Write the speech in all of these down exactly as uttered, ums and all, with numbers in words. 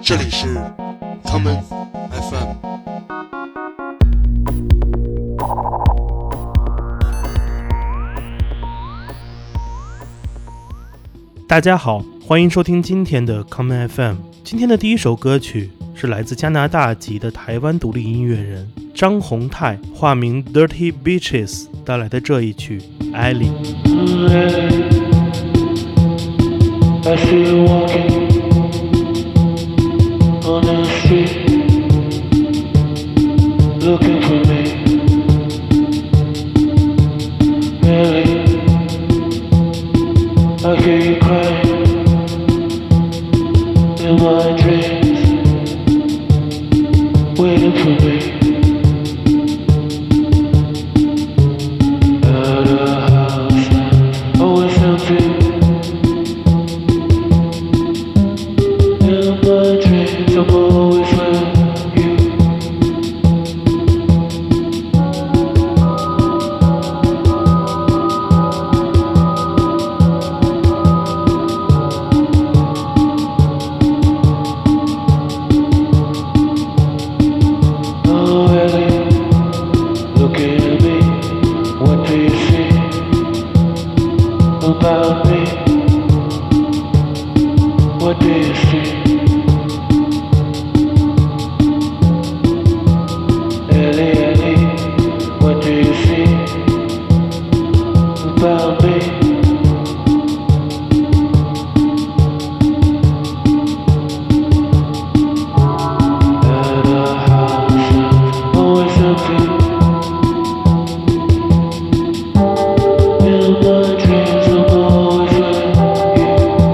这里是 Common F M。 大家好，欢迎收听今天的 Common F M。 今天的第一首歌曲是来自加拿大籍的台湾独立音乐人张宏泰，化名 Dirty Beaches 带来的这一曲 Ellie。 I see you walking on the street, looking for me. Really, I hear you crying in my dreams, waiting for me. At a house always empty. In my dreams, I'm always with you. Oh, Ellie, looking at me, what do you see about me? What do you see? Ellie, Ellie, what do you see about me? At a house always empty. In my dreams, I'm always with you.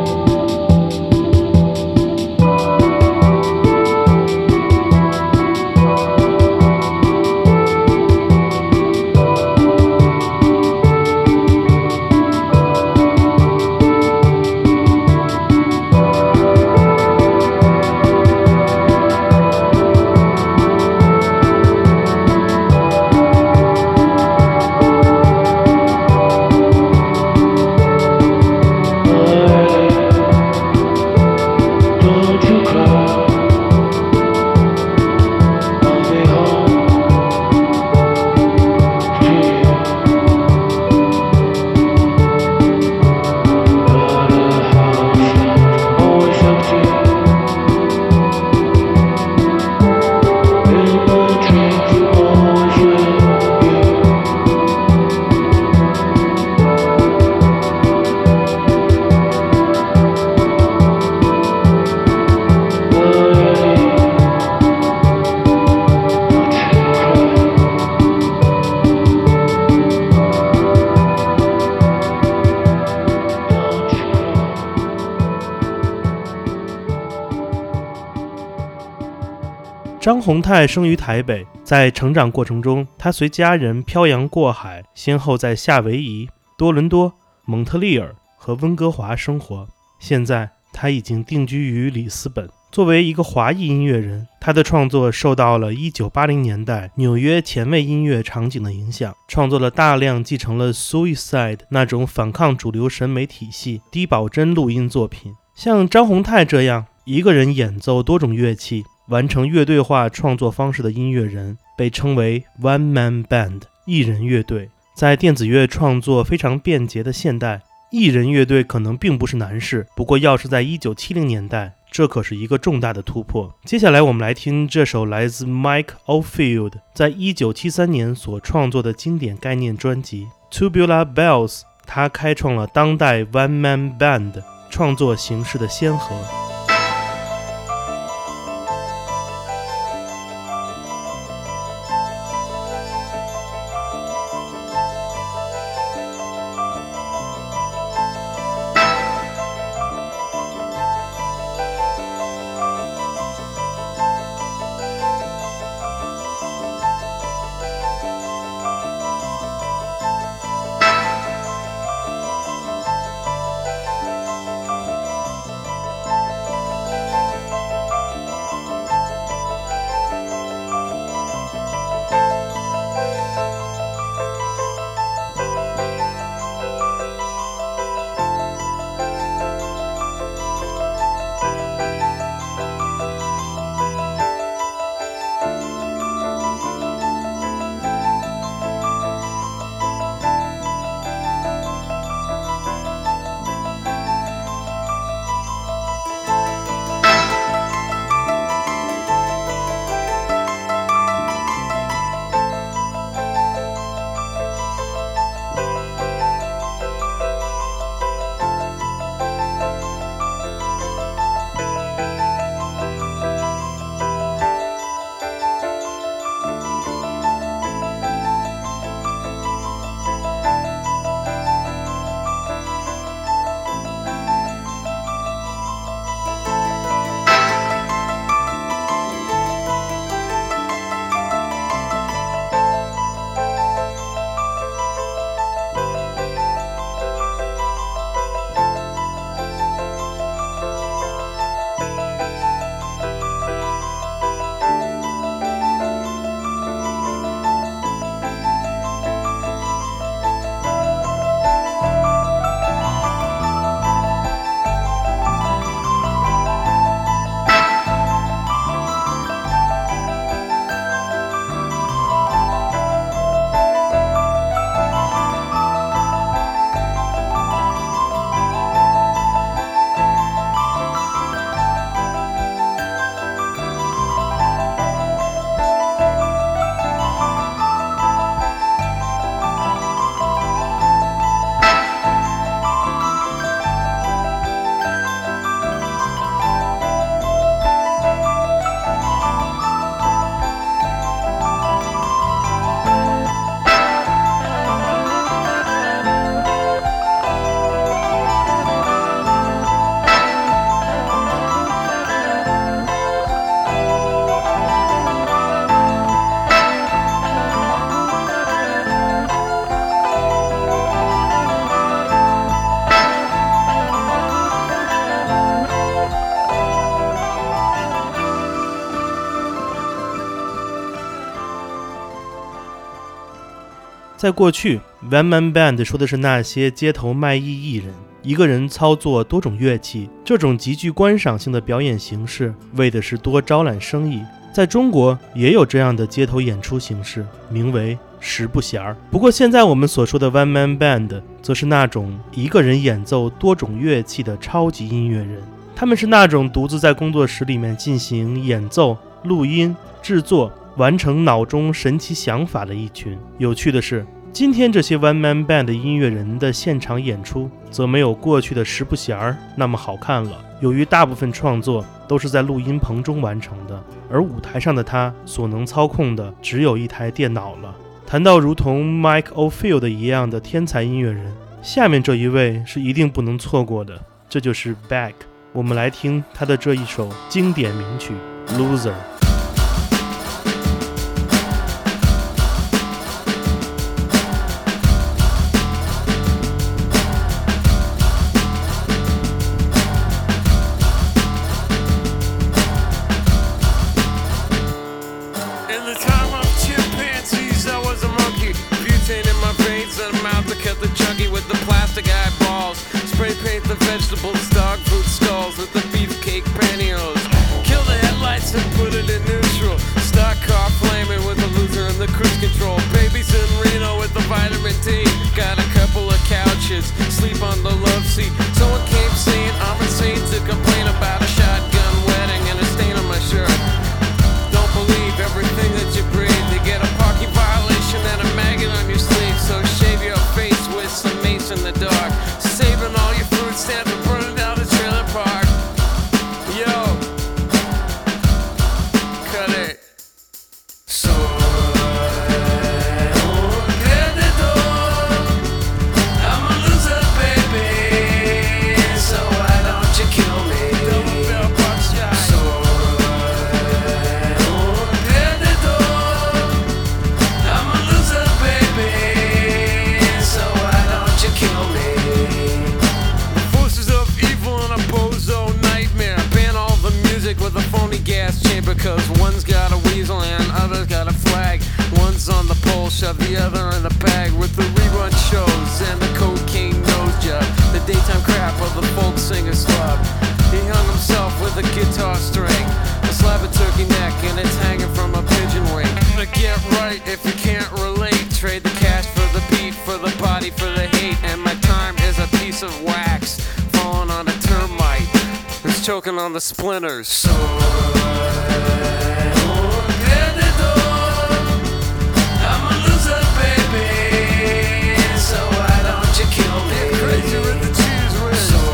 Don't you cry, I'll be home to you. At a house always empty. In my dreams, I'm always with you. Don't you cry. 张宏泰生于台北，在成长过程中，他随家人漂洋过海，先后在夏威夷、多伦多、蒙特利尔和温哥华生活。现在他已经定居于里斯本。作为一个华裔音乐人，他的创作受到了一九八零年代纽约前卫音乐场景的影响，创作了大量继承了 Suicide 那种反抗主流审美体系低保真录音作品。像张宏泰这样一个人演奏多种乐器，完成乐队化创作方式的音乐人，被称为 One Man Band 一人乐队。在电子乐创作非常便捷的现代，一人乐队可能并不是难事，不过要是在一九七零年代，这可是一个重大的突破。接下来我们来听这首来自 Mike Oldfield 在一九七三年所创作的经典概念专辑 Tubular Bells， 他开创了当代 One Man Band 创作形式的先河。 在过去 One Man Band 说的是那些街头卖艺艺人，一个人操作多种乐器，这种极具观赏性的表演形式为的是多招揽生意。在中国也有这样的街头演出形式，名为十不弦儿。不过现在我们所说的 One Man Band 则是那种一个人演奏多种乐器的超级音乐人，他们是那种独自在工作室里面进行演奏、录音、制作，完成脑中神奇想法的一群。有趣的是，今天这些 One Man Band 的音乐人的现场演出则没有过去的十不弦儿那么好看了。由于大部分创作都是在录音棚中完成的，而舞台上的他所能操控的只有一台电脑了。谈到如同 Mike Oldfield 一样的天才音乐人，下面这一位是一定不能错过的，这就是 Beck。 我们来听他的这一首经典名曲 Loser。 Vegetables, dog food stalls with the beefcake pantyhose. Kill the headlights and put it in neutral. Stock car flaming with the loser and the cruise control. Babies in Reno with the vitamin D. Got a couple of couches, sleep on the love seat. Someone came saying I'm insane to complain about a shotgun wedding and a stain on my shirt. Don't believe everything that you breathe. You get a parking violation and a maggot on your sleeve. So shave your face with some mace in the dark. Saving all your food stamps and burning down the trailer park. Yo, cut it. So I'm a loser, baby. So why don't you kill me? Double bell box shot. So I'm a loser, baby. So why don't you kill me? With a phony gas chamber, cause one's got a weasel and other's got a flag. One's on the pole, shove the other in the bag. With the rerun shows and the cocaine nose job, the daytime crap of the folk singer slub. He hung himself with a guitar string, a slab of turkey neck, and it's hanging from a pigeon wing. But get right if you can't relate. Trade the cash for the beat, for the body, for the hate. And my time is a piece of wax falling on a termite. It's choking on the splinters. So I'm a loser, baby. So why don't you kill me? Get crazy with the cheese whiz. So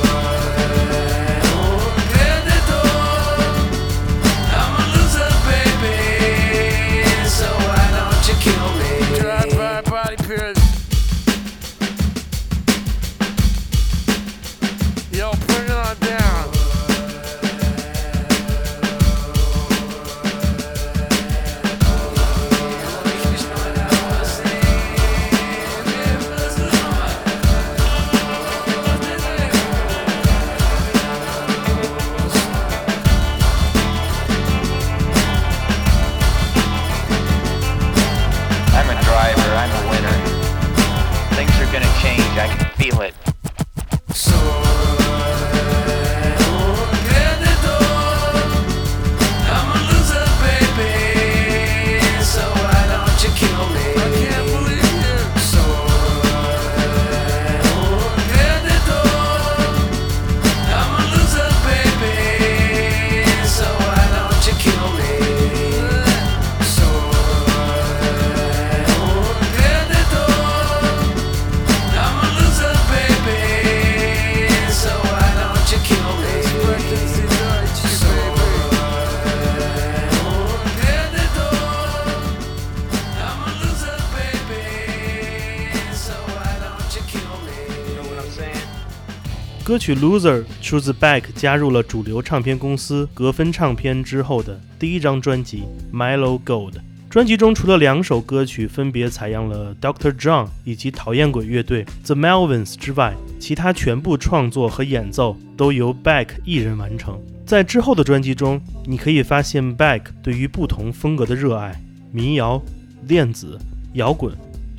I'm a loser, baby. So why don't you kill me? Drive-by body pierce. Yo, bring it on down. I'm a driver, I'm a winner. Things are gonna change, I can feel it. So I'm a loser, baby. So why don't you kill me? I can't believe you. So I'm a loser, baby. So why don't you kill me? So I'm a loser, baby. So why don't you kill me? So I'm a loser, baby. So why don't you kill me? You know what I'm saying? 歌曲 Loser 出自 Beck 加入了主流唱片公司格芬唱片之后的第一张专辑 Mellow Gold。专辑中除了两首歌曲分别采样了 Doctor John 以及讨厌鬼乐队 The Melvins 之外，其他全部创作和演奏都由 Beck 一人完成。在之后的专辑中，你可以发现 Beck 对于不同风格的热爱，民谣、电子、摇滚，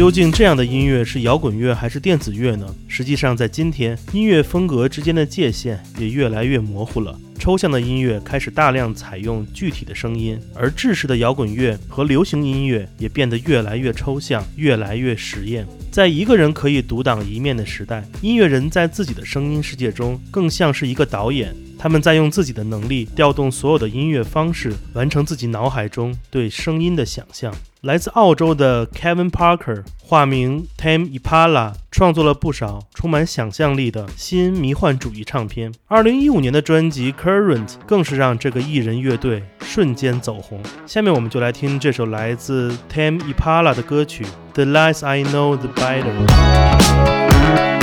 究竟这样的音乐是摇滚乐还是电子乐呢？实际上在今天，音乐风格之间的界限也越来越模糊了。抽象的音乐开始大量采用具体的声音，而制式的摇滚乐和流行音乐也变得越来越抽象，越来越实验。在一个人可以独当一面的时代，音乐人在自己的声音世界中更像是一个导演，他们在用自己的能力调动所有的音乐方式，完成自己脑海中对声音的想象。来自澳洲的 Kevin Parker 化名 Tame Impala 创作了不少充满想象力的新迷幻主义唱片。二零一五年的专辑 Current 更是让这个艺人乐队瞬间走红。下面我们就来听这首来自 Tame Impala 的歌曲 The Less I Know The Better。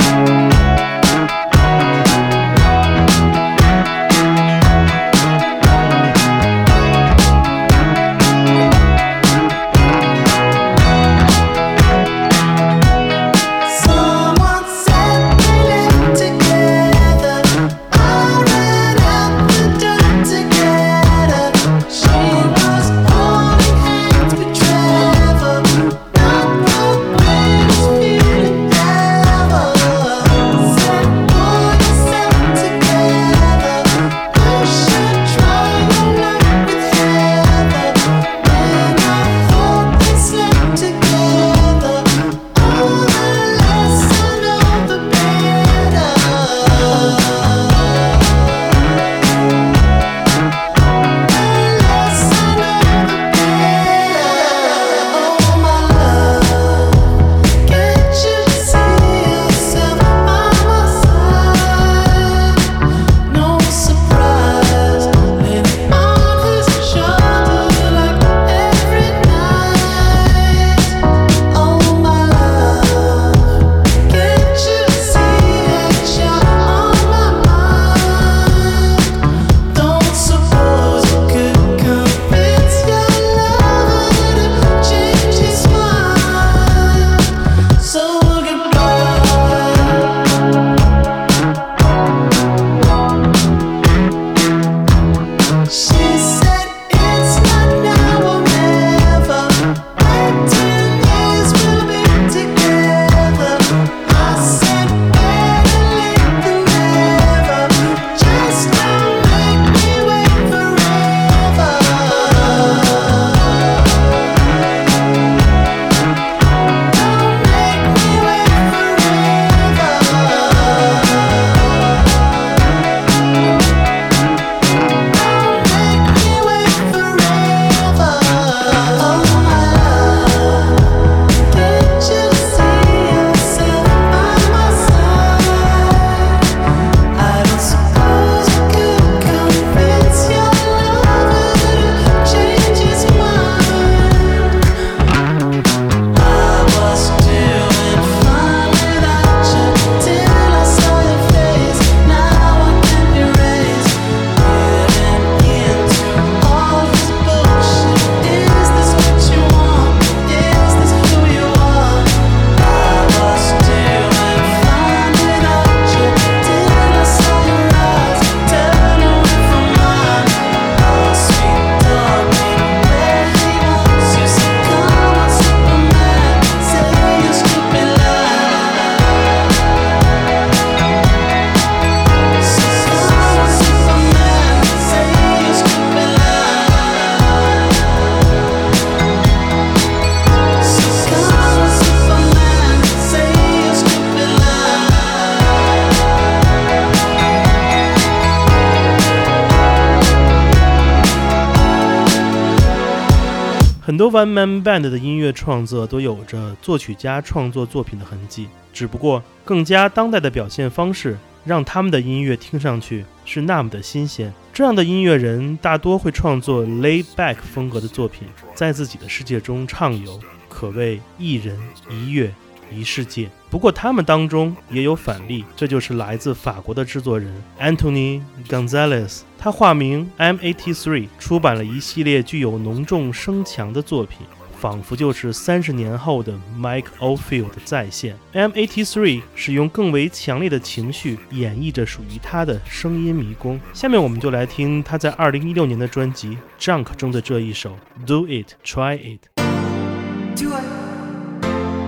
很多 One Man Band 的音乐创作都有着作曲家创作作品的痕迹，只不过更加当代的表现方式让他们的音乐听上去是那么的新鲜。这样的音乐人大多会创作 laid back 风格的作品，在自己的世界中畅游，可谓一人一乐一世界。不过他们当中也有反例，这就是来自法国的制作人 Anthony Gonzalez， 他化名 M 八十三， 出版了一系列具有浓重声强的作品，仿佛就是三十年后的 Mike Oldfield 的再现。 M 八十三 使用更为强烈的情绪演绎着属于他的声音迷宫。下面我们就来听他在二零一六年的专辑 Junk 中的这一首 Do It Try It。 Do it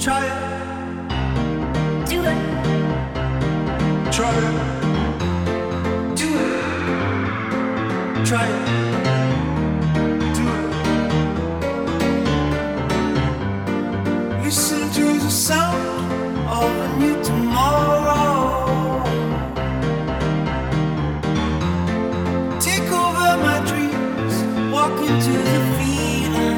Try it. Do it. Try it. Do it. Try it. Do it. Listen to the sound of a new tomorrow. Take over my dreams. Walk into the feeling.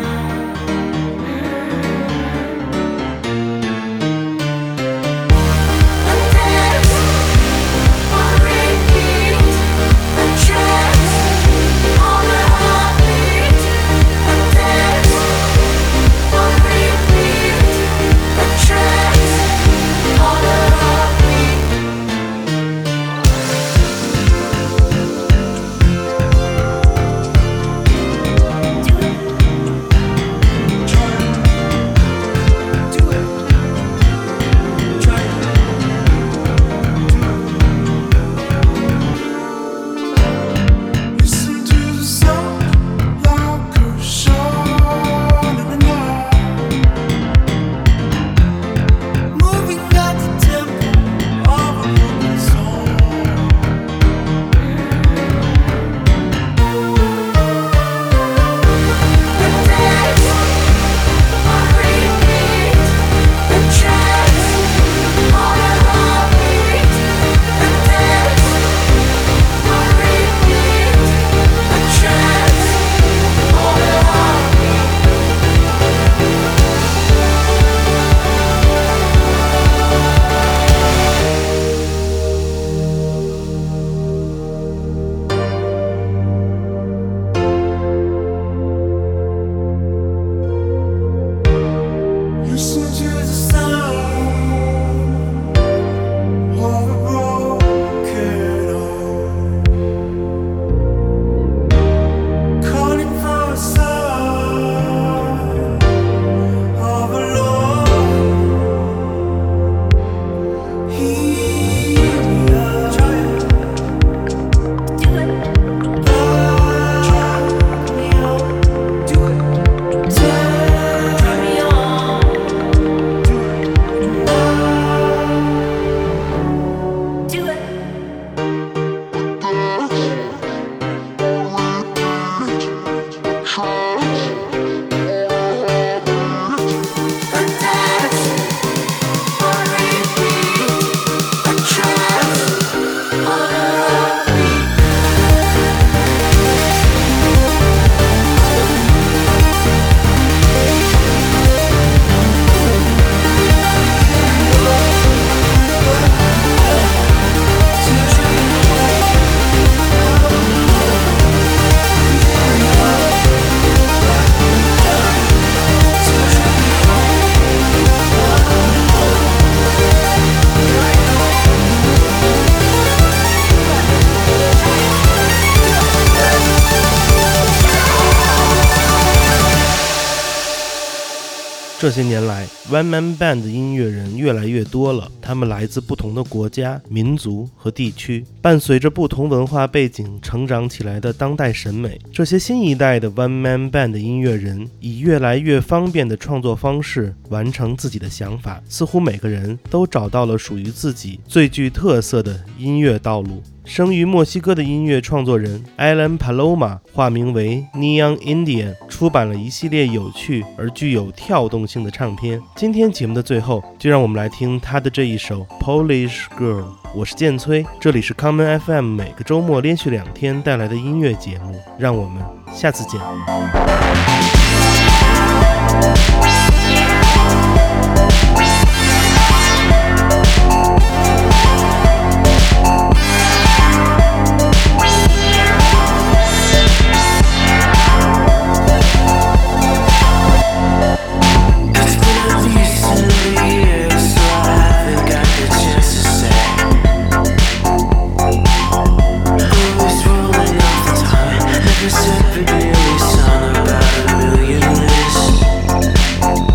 这些年来 One Man Band 的音乐人越来越多了，他们来自不同的国家、民族和地区，伴随着不同文化背景成长起来的当代审美。这些新一代的 One Man Band 的音乐人以越来越方便的创作方式完成自己的想法，似乎每个人都找到了属于自己最具特色的音乐道路。生于墨西哥的音乐创作人 Alan Paloma 化名为 Neon Indian 出版了一系列有趣而具有跳动性的唱片。今天节目的最后，就让我们来听他的这一首 Polish Girl。 我是建崔，这里是 Common F M 每个周末连续两天带来的音乐节目，让我们下次见。 Separate daily song about a million lists.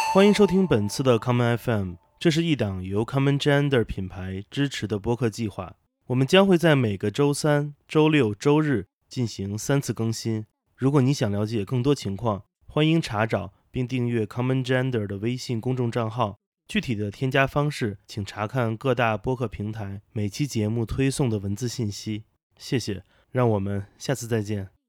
欢迎收听本次的 Common F M， 这是一档由 Common Gender 品牌支持的播客计划。我们将会在每个周三、周六、周日进行三次更新。如果你想了解更多情况，欢迎查找并订阅 Common Gender 的微信公众账号。具体的添加方式，请查看各大播客平台每期节目推送的文字信息。谢谢，让我们下次再见。